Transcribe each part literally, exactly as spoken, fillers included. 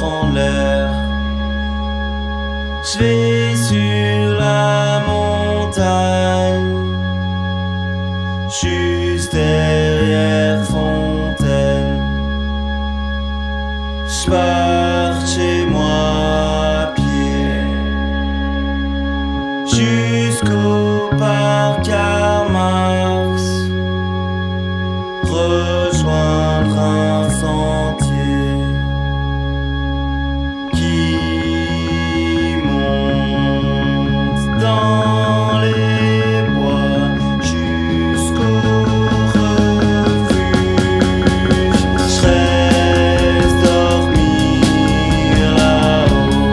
prendre l'air. Je vais sur la montagne, juste derrière Fontaine. Je pars chez moi à pied jusqu'au parc Karl Marx, rejoindre un sentier qui monte dans les bois jusqu'au refuge. Je reste dormir là-haut.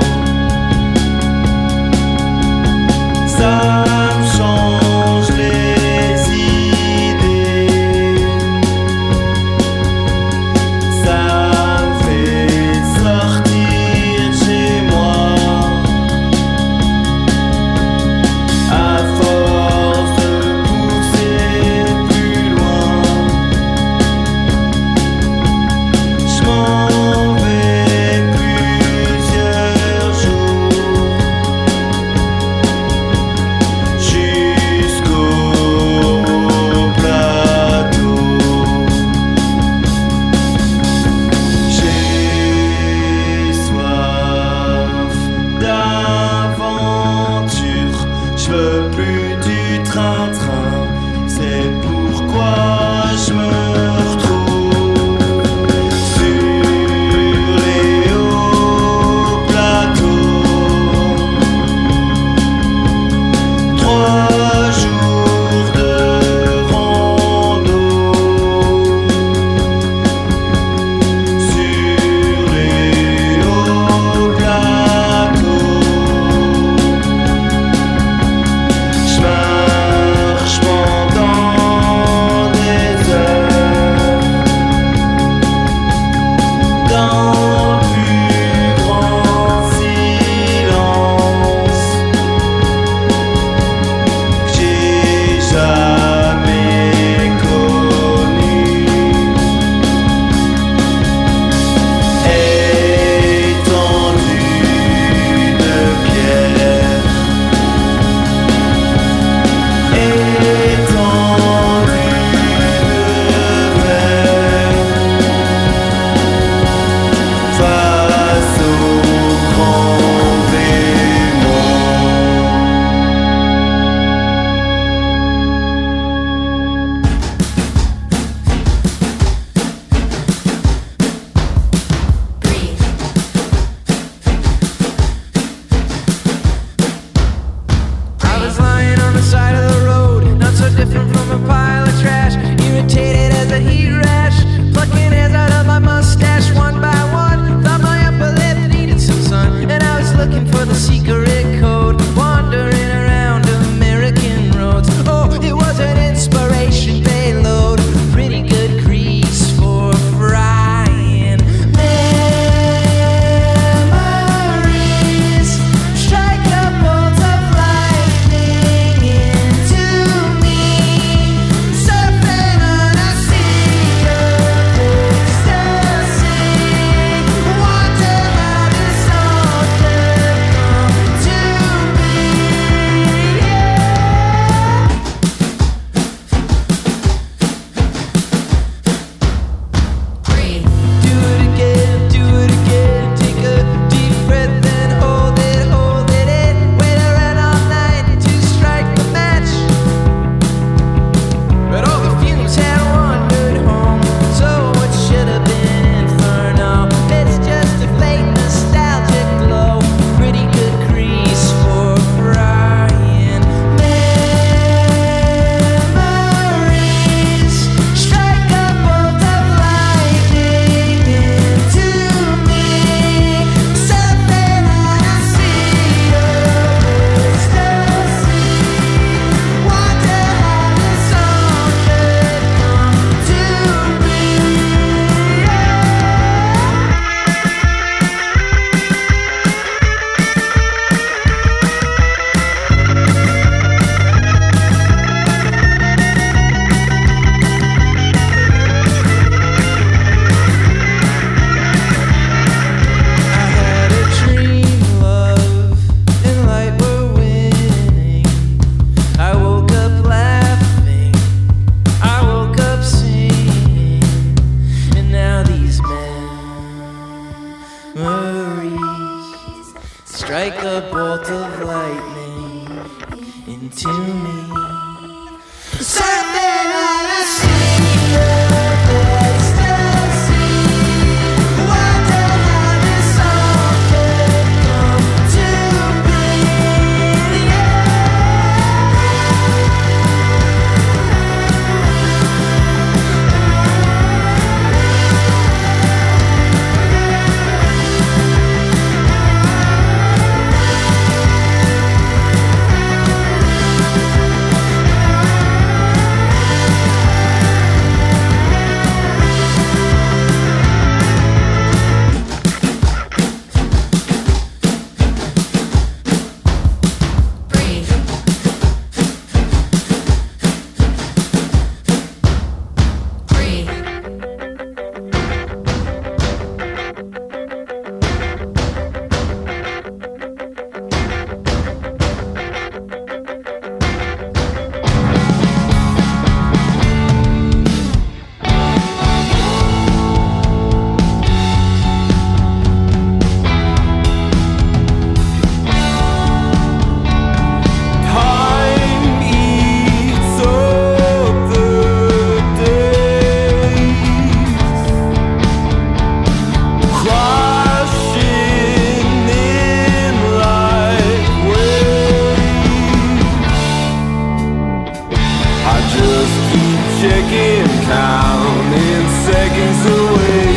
Ça me change les idées, ça me fait sortir de chez moi. À force de pousser plus loin, je m'en vais plusieurs jours jusqu'au plateau. J'ai soif d'aventure, je veux plus du train-train, c'est pourquoi je me retrouve sur les hauts plateaux. Trois jours de rando sur les hauts plateaux. Je I just keep checking, counting seconds away.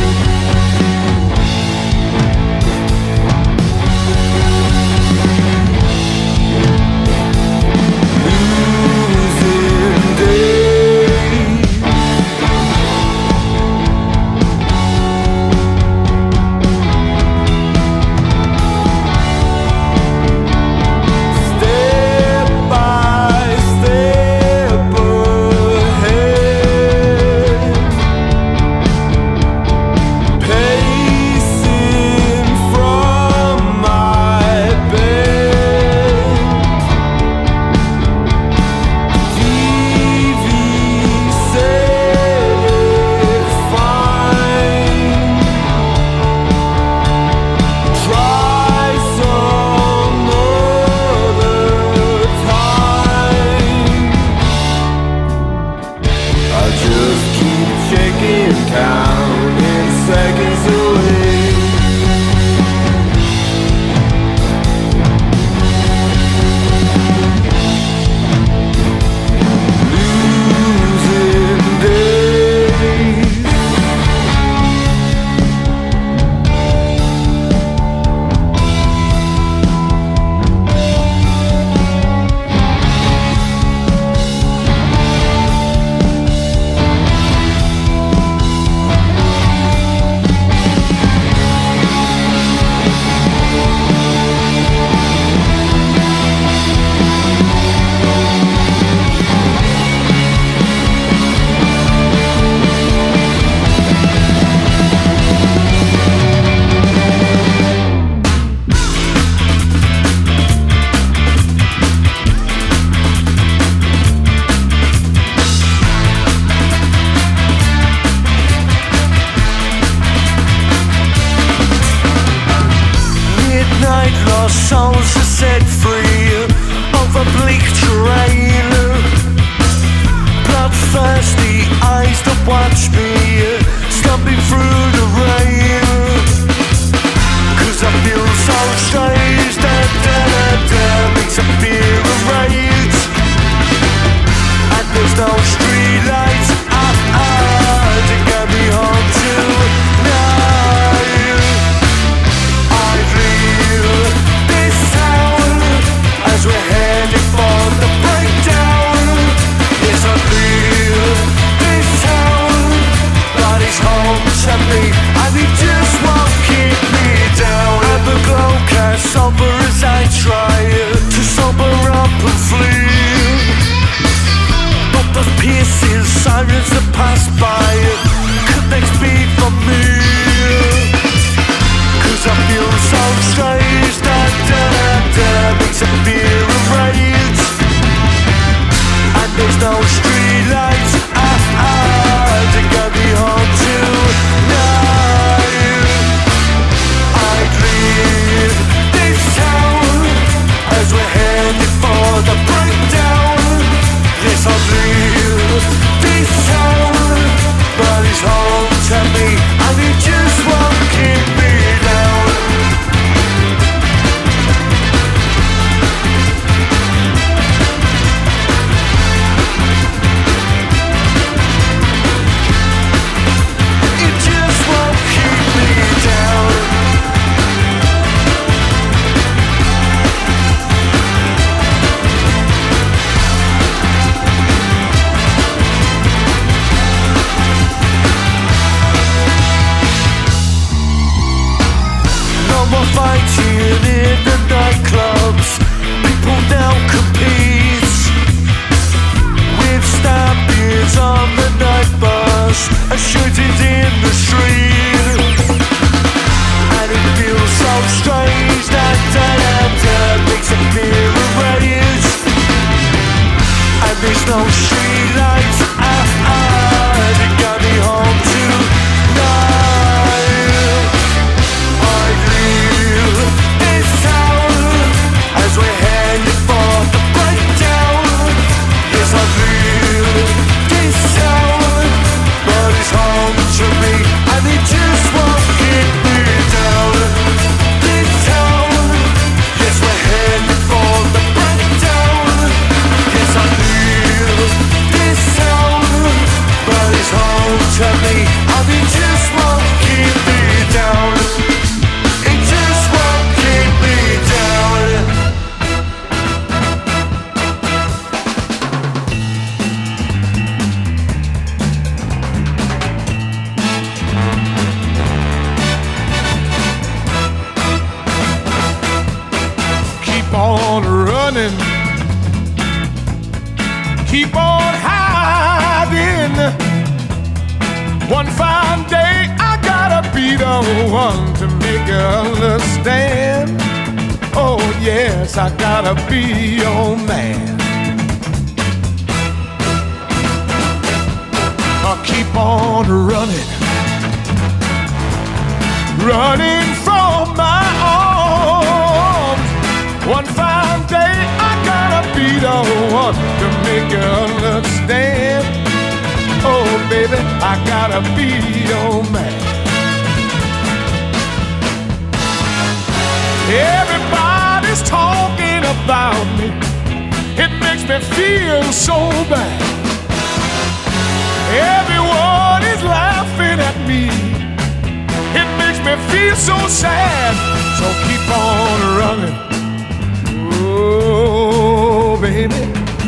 Losing days. Step by step ahead, pacing from my bed. T V said it's fine. Try some other time. I just keep checking, counting seconds away. Losing days. Midnight lost souls are set free over bleak terrain. Bloodthirsty eyes that watch me stumbling through the rain. Cause I feel so strange, da da da da, makes a fear of rage. And there's no street lights, ah ah, to get me home tonight. I feel this town as we're heading for the breakdown. Yes, I feel this town, but it's home to me, and it just won't keep me down. And the glow casts sober as I try to sober up and flee. But those piercing sirens that pass by could next be for me. Cause I feel so strange, da da da, makes a fear of rage. And there's no street lights, ah ah, to get me home tonight. I leave this town as we're headed for the breakdown. Yes, I leave this town, but it's home to me, and it just won't keep me down. It just won't keep me down. No more fighting in the nightclubs. People now compete with stabbings on the night bus and shootings in the street. And it feels so strange, that da da da, makes a fear of rage. And there's no street lights, ah ah, to get me home tonight. I leave this town as we're headed for the breakdown. Yes, I leave this town, but it's home to me, and it just won't keep me down. This town, yes, we're headed for the breakdown. Yes, I leave One fine day I gotta be the one to make you understand. Oh yes, I gotta be your man. I'll keep on running, running from my arms. One fine day I gotta be the one to make you understand. Oh baby, I gotta be your man. Everybody's talking about me. It makes me feel so bad. Everyone is laughing at me. It makes me feel so sad. So keep on running. Oh baby,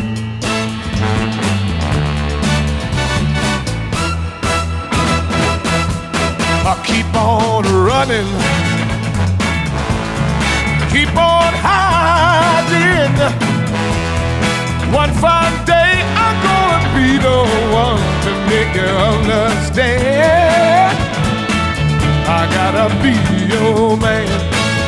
I'll keep on running, keep on hiding. One fine day I'm gonna be the one to make you understand. I gotta be your man.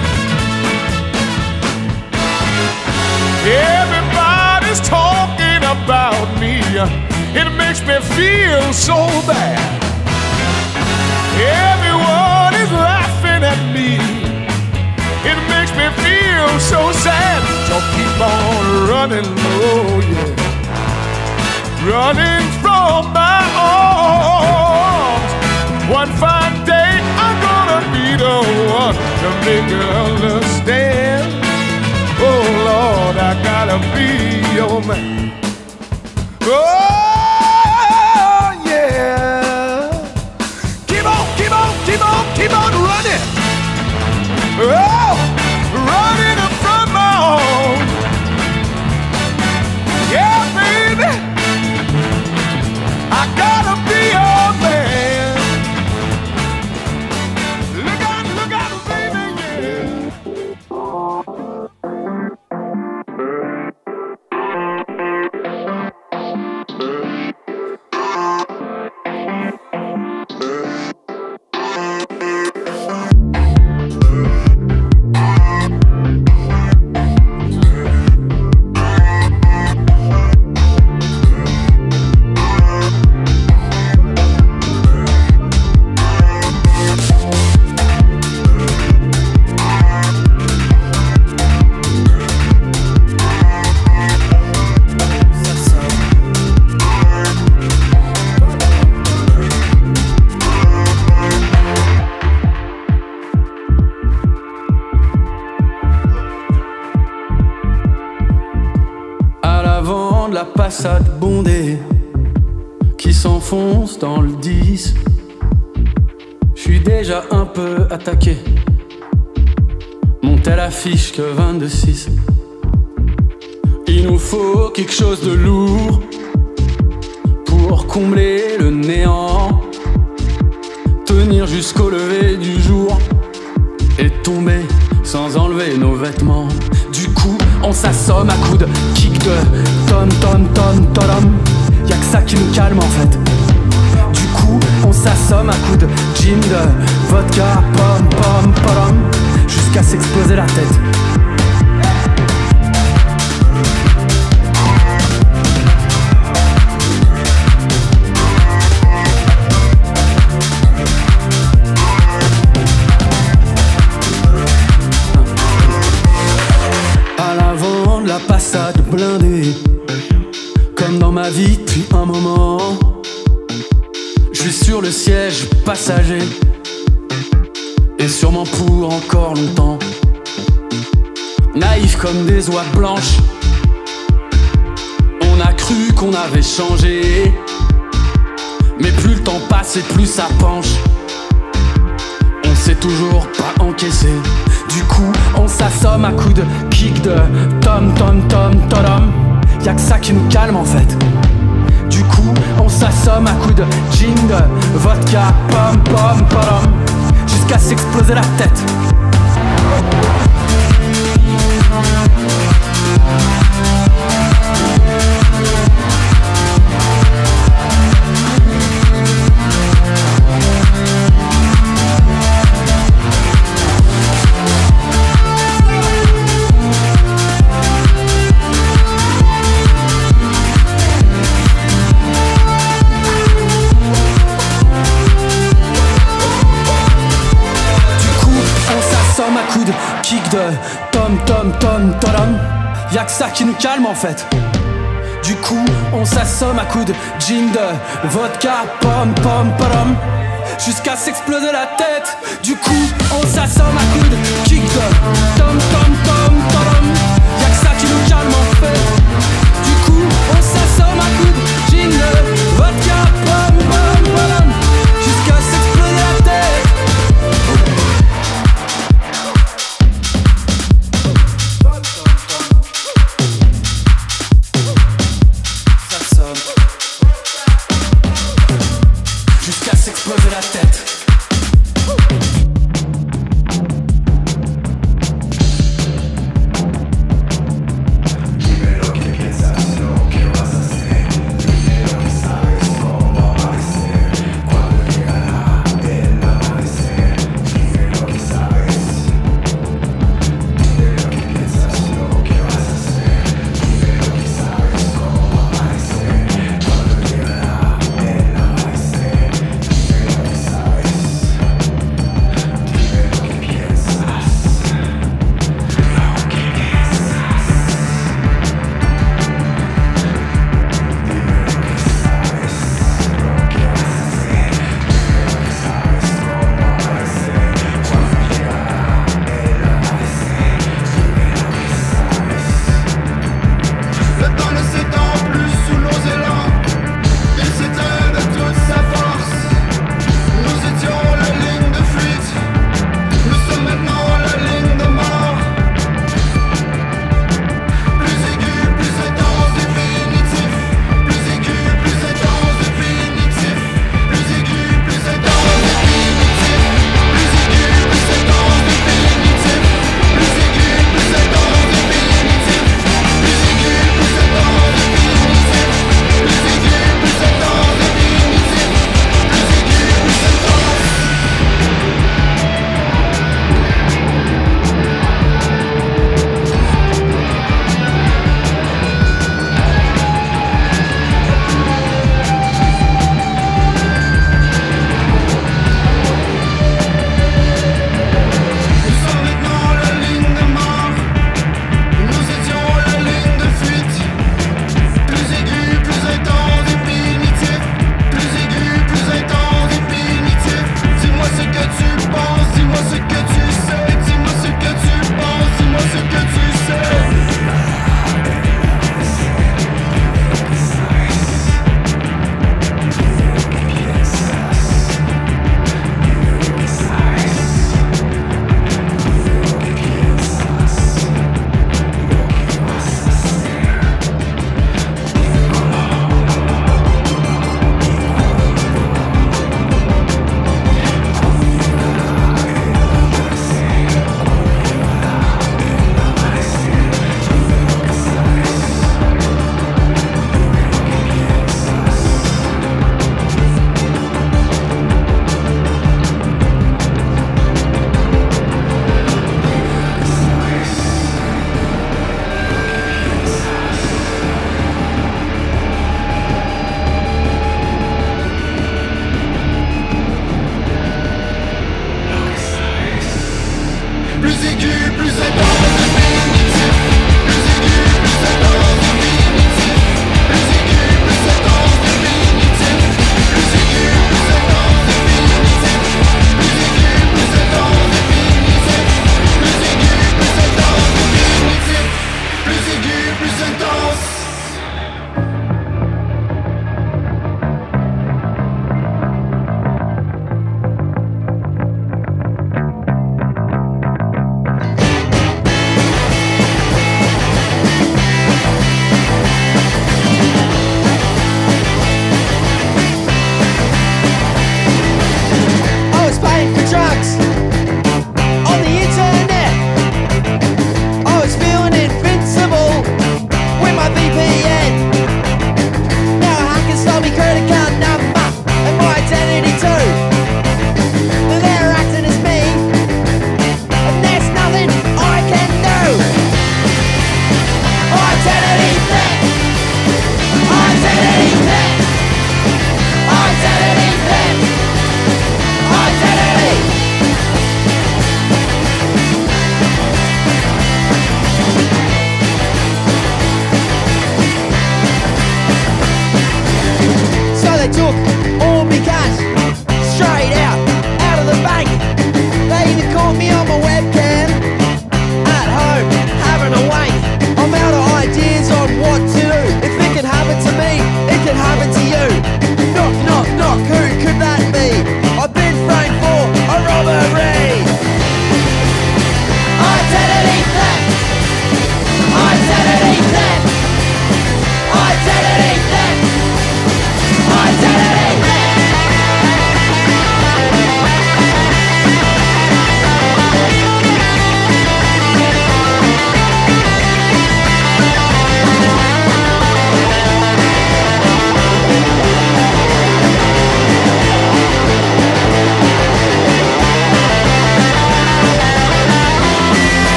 Everybody's talking about me. It makes me feel so bad. Everyone is laughing at me. It makes me feel so sad. So keep on running, oh yeah, running from my arms. One fine day I'm gonna be the one to make you understand. Oh Lord, I gotta be your man. Oh yeah. Keep on, keep on, keep on, keep on running. Oh, running from my home. Yeah, baby, I gotta be your man. Look out, look out, baby, yeah. Passade bondée qui s'enfonce dans le dix. J'suis déjà un peu attaqué. Mon tel affiche que vingt-deux six. Il nous faut quelque chose de lourd pour combler le néant, tenir jusqu'au lever du jour et tomber sans enlever nos vêtements. Du coup, on s'assomme à coups de kick de tom tom tom tom. Y'a que ça qui nous calme en fait. Du coup, on s'assomme à coups de gin, de vodka, pom pom pom, jusqu'à s'exploser la tête. Passade blindée, comme dans ma vie depuis un moment. Je suis sur le siège passager, et sûrement pour encore longtemps. Naïf comme des oies blanches, on a cru qu'on avait changé, mais plus le temps passe et plus ça penche. On sait toujours pas encaisser. Du coup, on s'assomme à coups de kick de tom tom tom tom. Y'a que ça qui nous calme en fait. Du coup, on s'assomme à coups de gin, de vodka, pom pom pom, jusqu'à s'exploser la tête. kick de tom tom tom tom. Y'a que ça qui nous calme en fait. Du coup on s'assomme à coups de gin de vodka pom pom pom jusqu'à s'exploser la tête. Du coup on s'assomme à coups de kick de tom tom tom tom. Y'a que ça qui nous calme en fait. Du coup on s'assomme à coups de gin de vodka pom pom pom jusqu'à s'exploser la tête. Jusqu'à s'exploser la tête.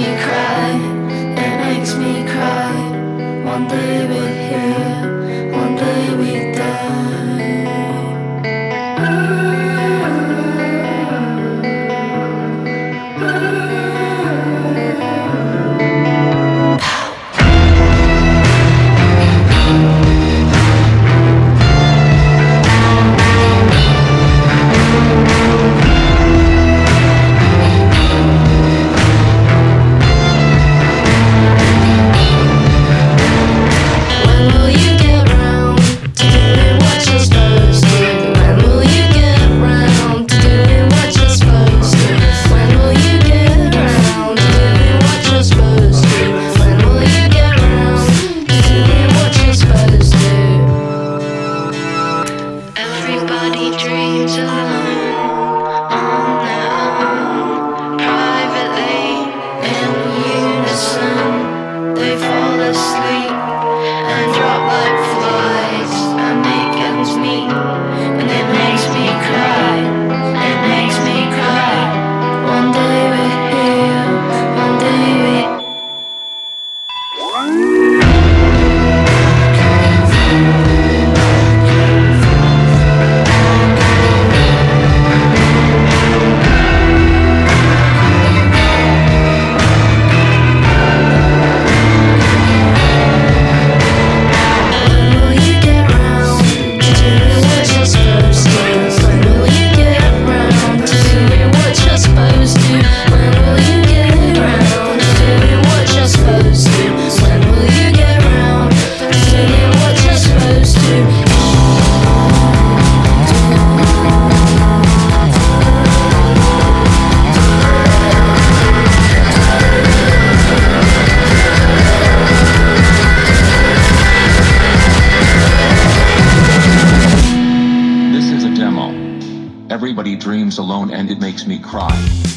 Alone and it makes me cry.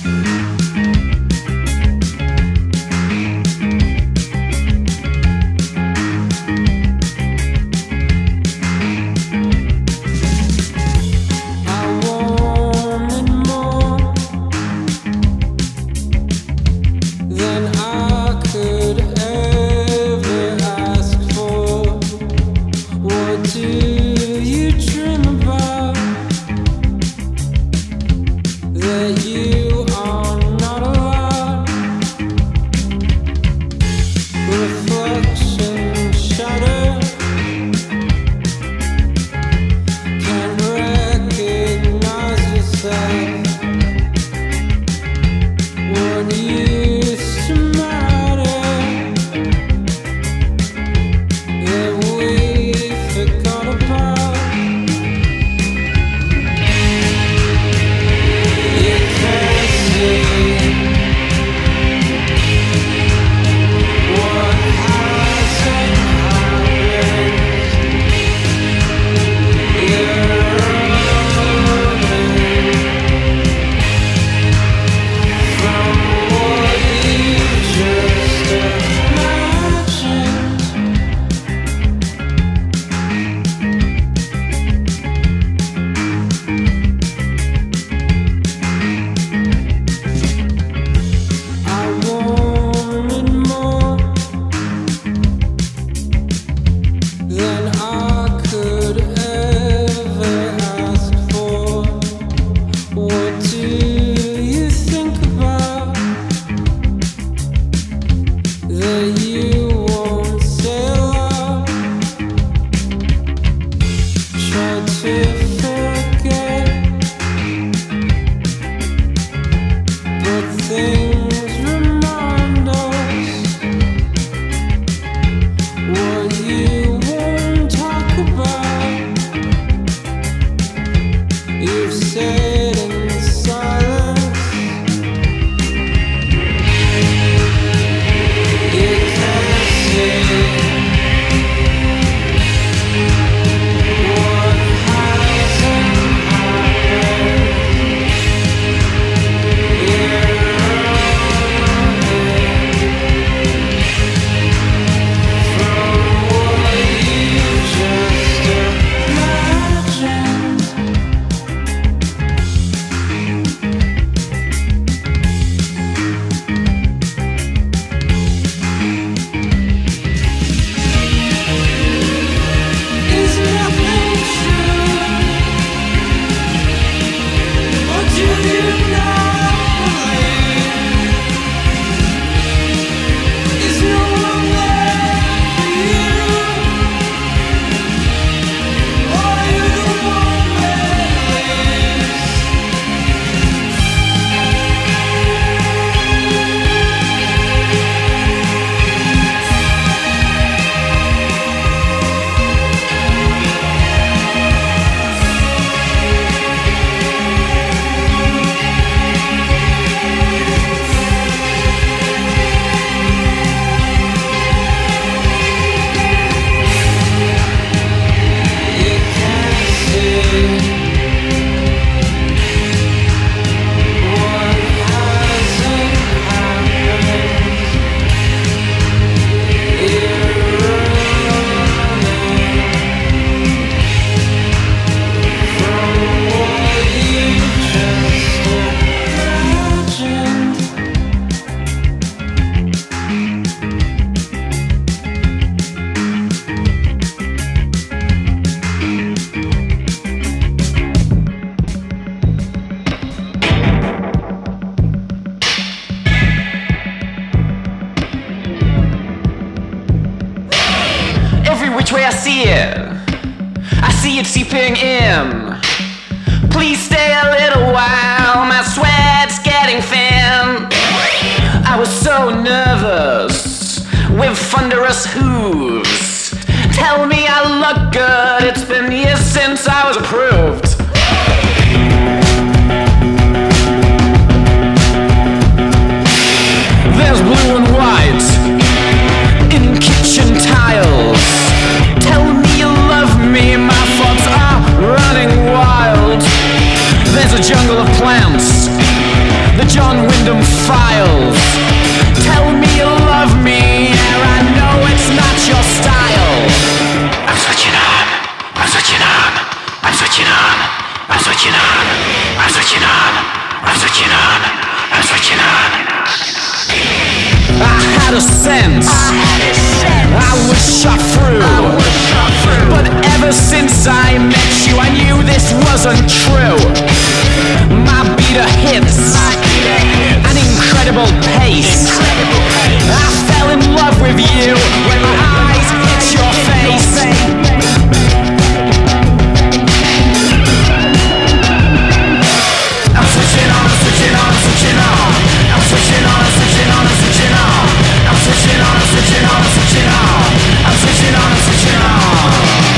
You are not alone. Yeah. way I see it. I see it seeping in. Please stay a little while, my sweat's getting thin. I was so nervous with thunderous hooves. Tell me I look good, it's been years since I was approved. There's blue and white in kitchen tiles. Tell me you love me, my thoughts are running wild. There's a jungle of plants, the John Wyndham Files. Tell me you love me, and I know it's not your style. I'm switching on, I'm switching on, I'm switching on, I'm switching on, I'm switching on, I'm switching on, I'm switching on. I had a sense, I was shot through, but ever since I met you, I knew this wasn't true. My beater hits an incredible pace. I fell in love with you when my eyes hit your face. I'm switching on, I'm switching on, I'm switching on. I'm switching on, I'm switching on, I'm switching on. I'm switching on, I'm switching on, I'm switching on. I'm switching on, I'm switching on.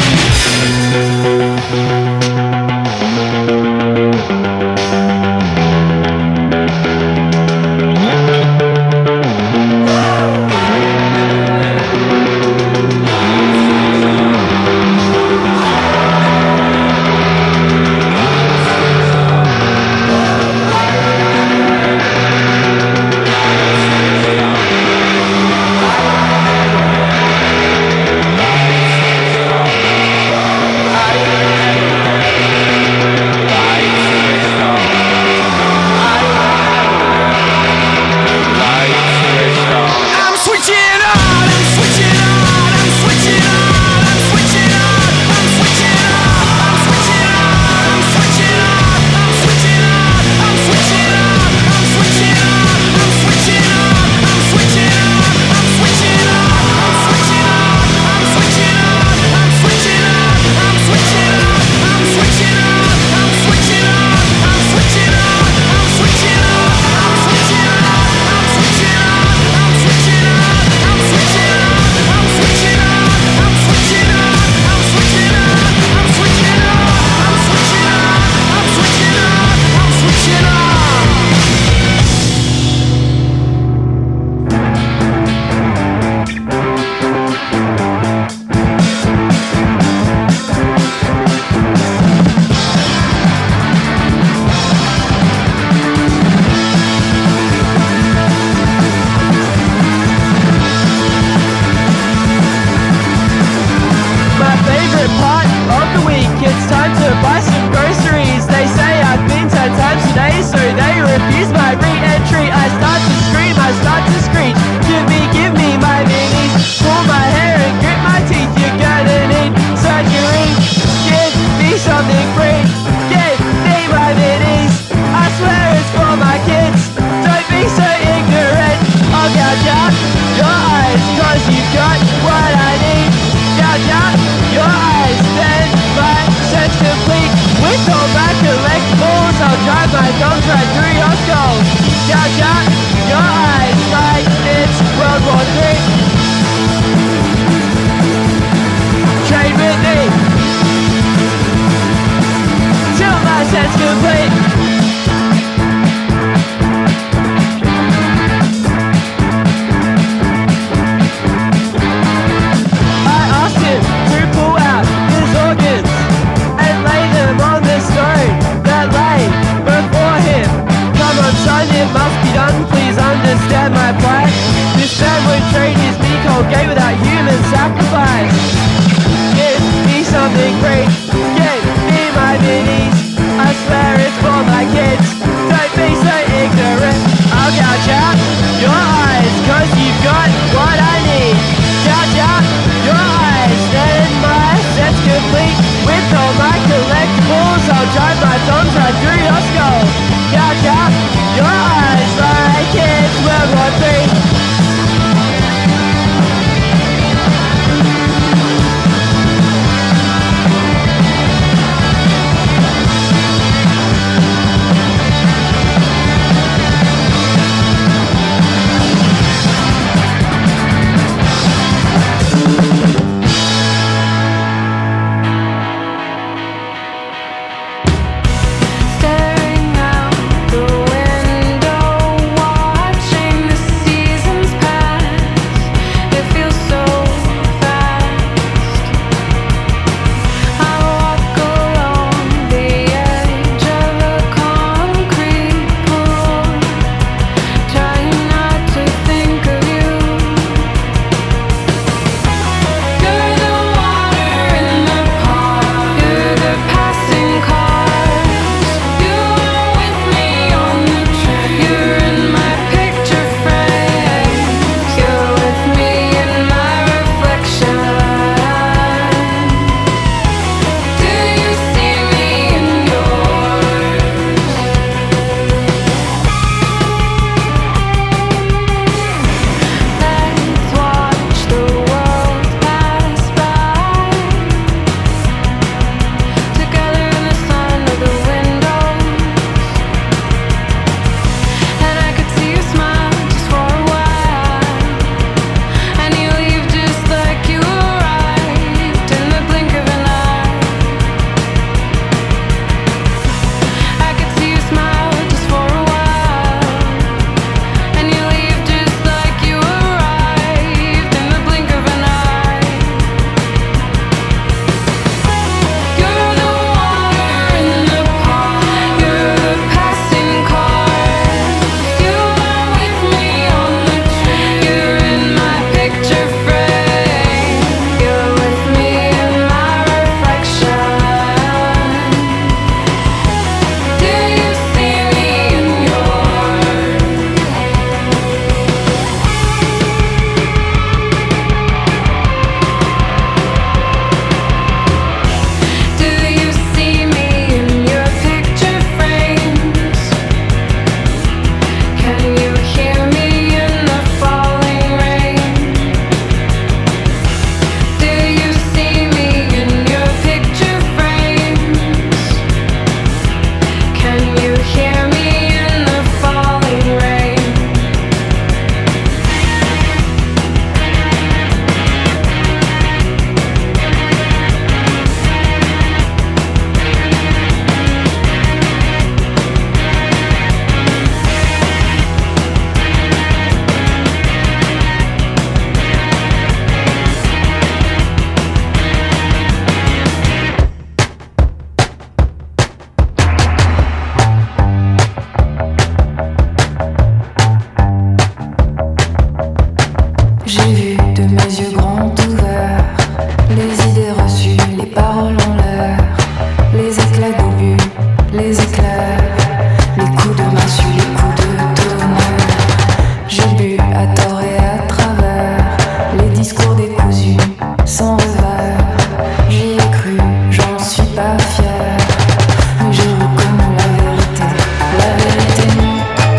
vu de mes yeux grands ouverts les idées reçues, les paroles en l'air, les éclats d'obus, les éclairs, les coups de massue, les coups de tonnerre. J'ai bu à tort et à travers les discours décousus, sans revers. J'y ai cru, j'en suis pas fière, mais j'ai reconnu la vérité, la vérité nue,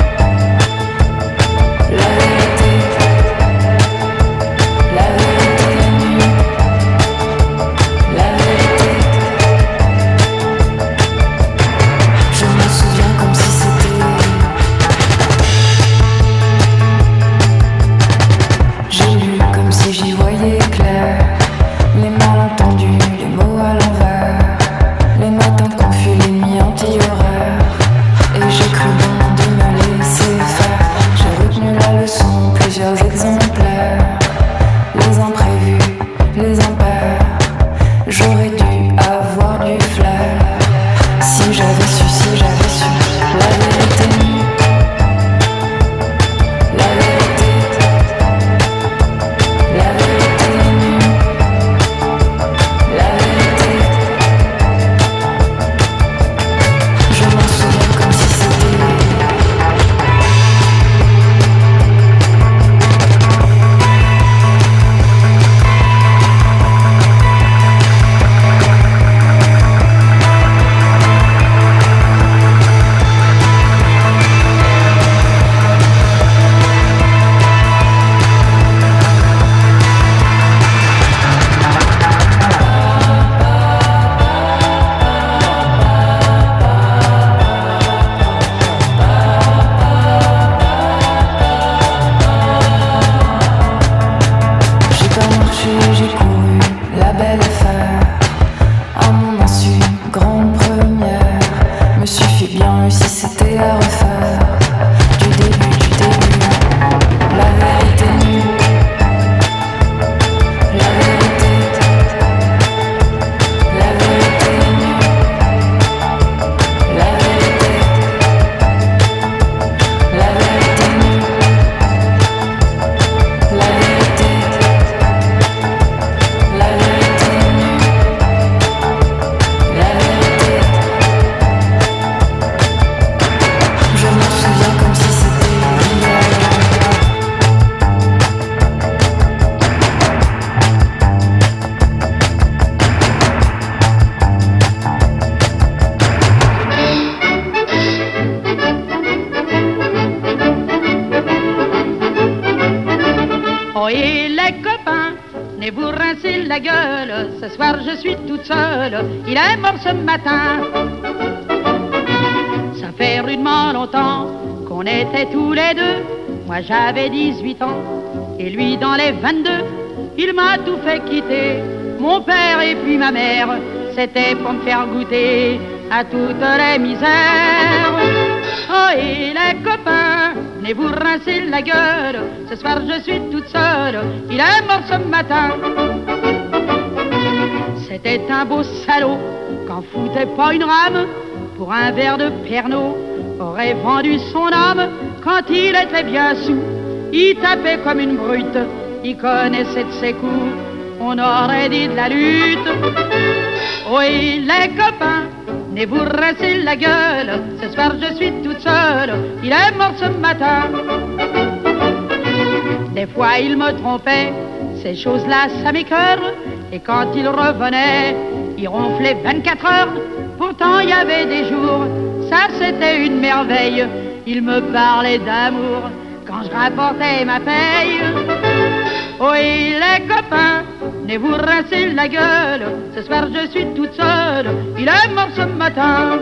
la vérité, la vérité nue, la vérité. Je me souviens comme si c'était. J'ai lu comme si j'y voyais clair, les malentendus, les mots à l'envers, les matins confus, les nuits anti-horaires. Et j'ai cru bon de me laisser faire. J'ai retenu la leçon, plusieurs exemplaires, les imprévus, les impairs. J'aurais dû avoir du flair si j'avais su, si j'avais su la vérité nue, la vérité, la vérité nue, la vérité. Je m'en souviens comme si c'était. J'ai pas marché, j'ai couru la belle affaire. À mon insu, grande première. Me suffit bien si c'était à refaire. Du début, du début. La vérité nue. La vérité. La vérité nue. La vérité. La vérité nue. La vérité. La vérité nue, la vérité. Je m'en souviens comme si c'était hier. Ohé les copains, venez vous rincer la gueule. Ce soir je suis toute seule, il est mort ce matin. Ça fait rudement longtemps qu'on était tous les deux. Moi j'avais dix-huit ans et lui dans les vingt-deux. Il m'a tout fait quitter, mon père et puis ma mère. C'était pour me faire goûter à toutes les misères. Oh et les copains, venez vous rincer la gueule. Ce soir je suis toute seule, il est mort ce matin. C'était un beau salaud, qu'en foutait pas une rame. Pour un verre de Pernod, aurait vendu son âme. Quand il était bien sous, il tapait comme une brute. Il connaissait de ses coups, on aurait dit de la lutte. Oui les copains, venez vous rincer la gueule. Ce soir je suis toute seule, il est mort ce matin. Des fois il me trompait, ces choses-là ça m'écœure. Et quand il revenait, il ronflait vingt-quatre heures. Pourtant il y avait des jours, ça c'était une merveille. Il me parlait d'amour quand je rapportais ma paye. Oui les copains, venez vous rincer la gueule. Ce soir je suis toute seule, il est mort ce matin.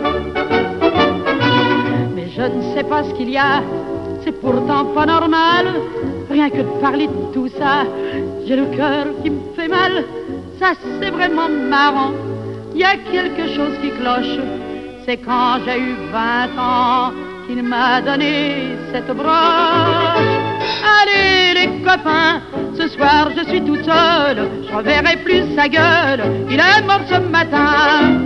Mais je ne sais pas ce qu'il y a, c'est pourtant pas normal. Rien que de parler de tout ça, j'ai le cœur qui me fait mal. Ça c'est vraiment marrant, il y a quelque chose qui cloche. C'est quand j'ai eu vingt ans qu'il m'a donné cette broche. Allez les copains, ce soir je suis toute seule, je reverrai plus sa gueule, il est mort ce matin.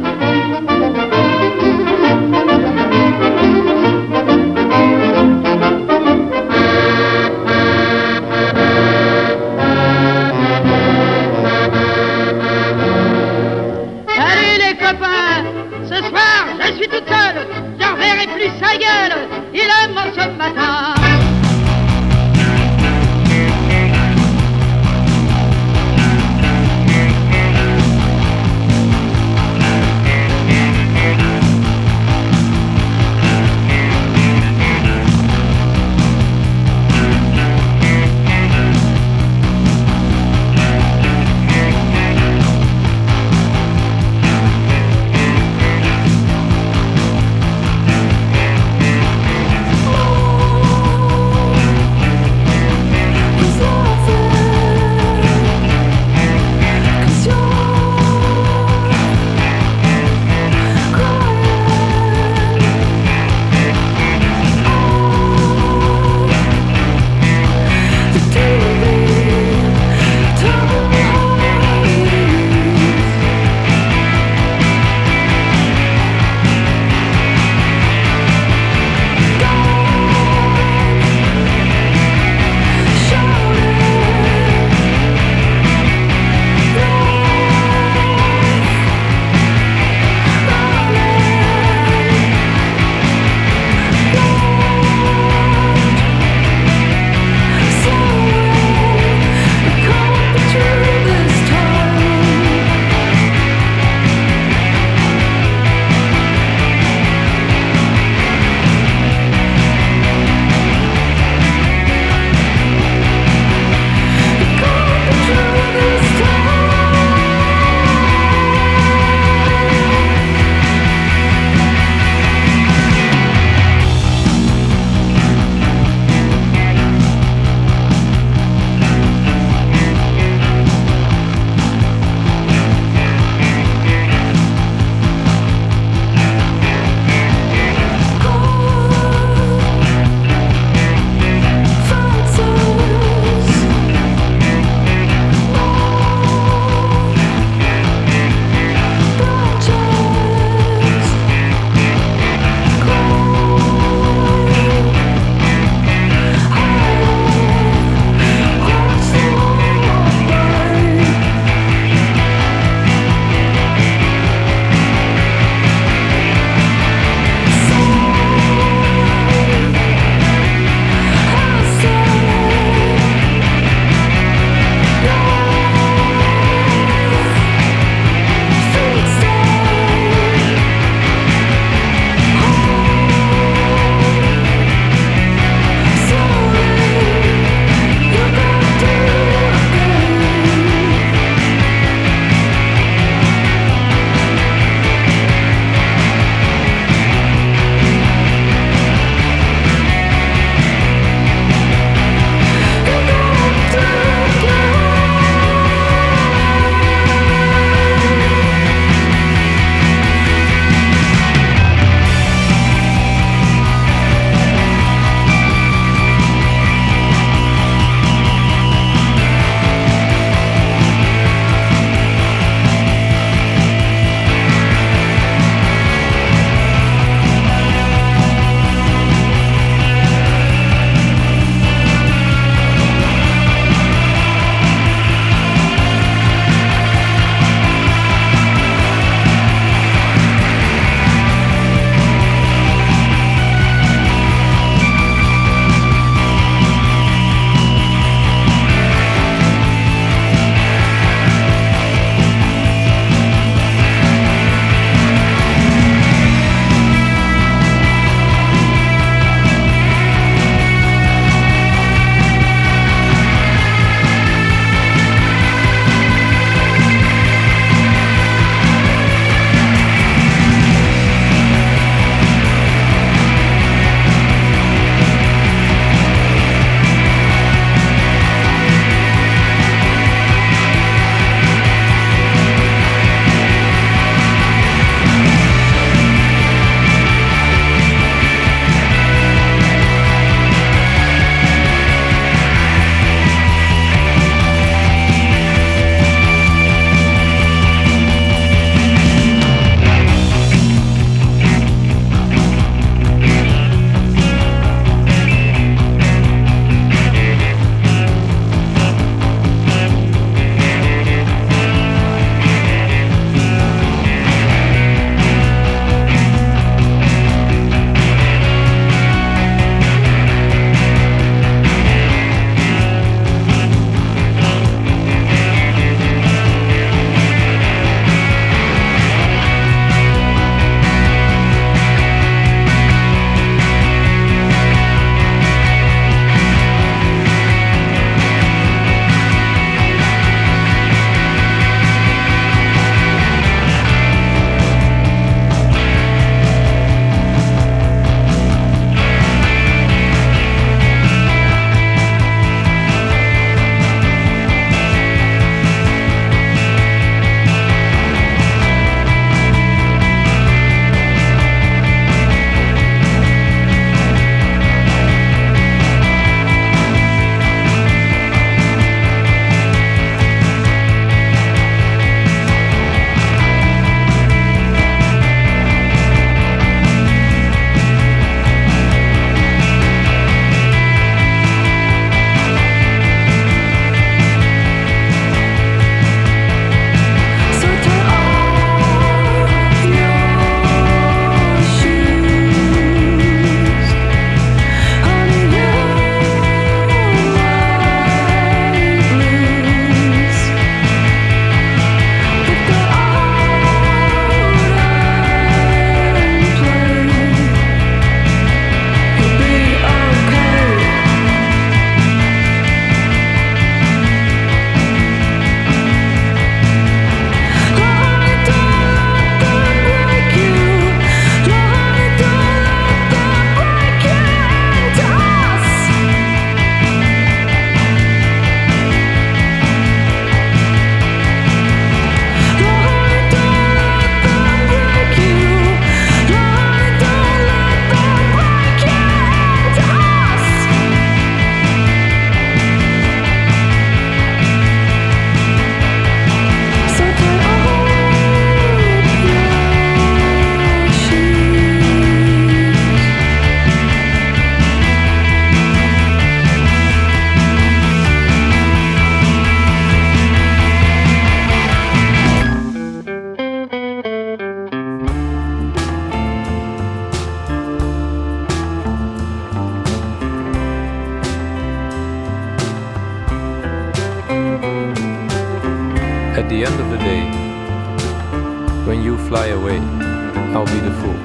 At the end of the day, when you fly away, I'll be the fool.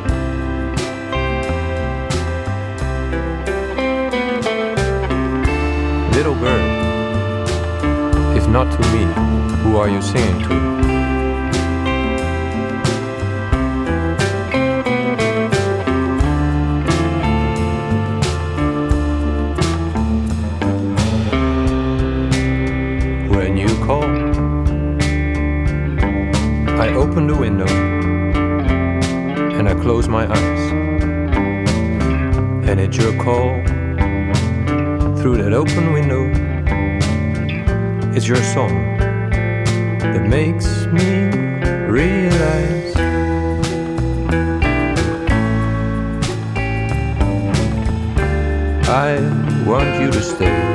Little bird, if not to me, who are you singing to? When you call, I open the window and I close my eyes, and at your call, through that open window, it's your song that makes me realize I want you to stay.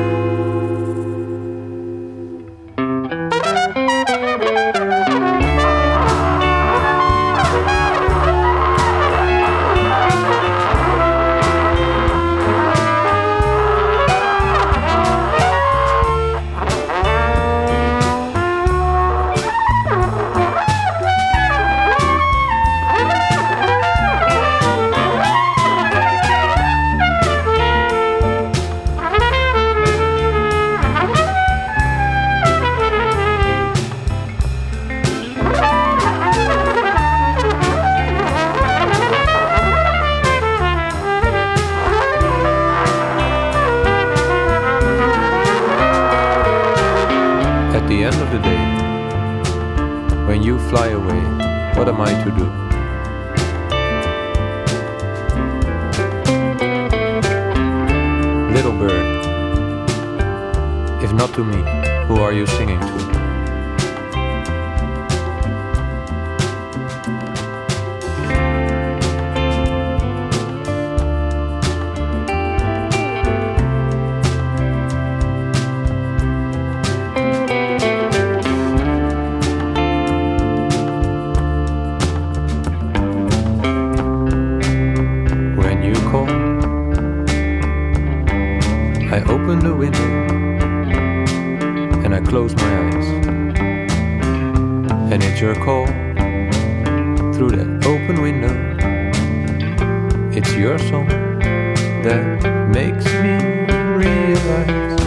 At the end of the day, when you fly away, what am I to do? Little bird, if not to me, who are you singing to? I open the window and I close my eyes, and it's your call through that open window. It's your song that makes me realize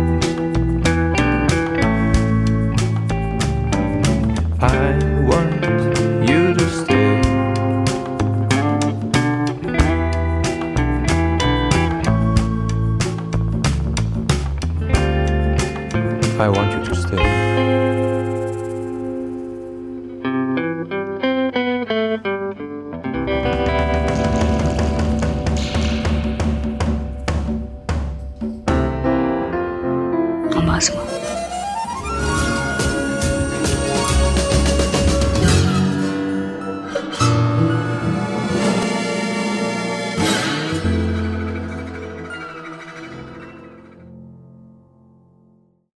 I want you to stay. I want you to stay.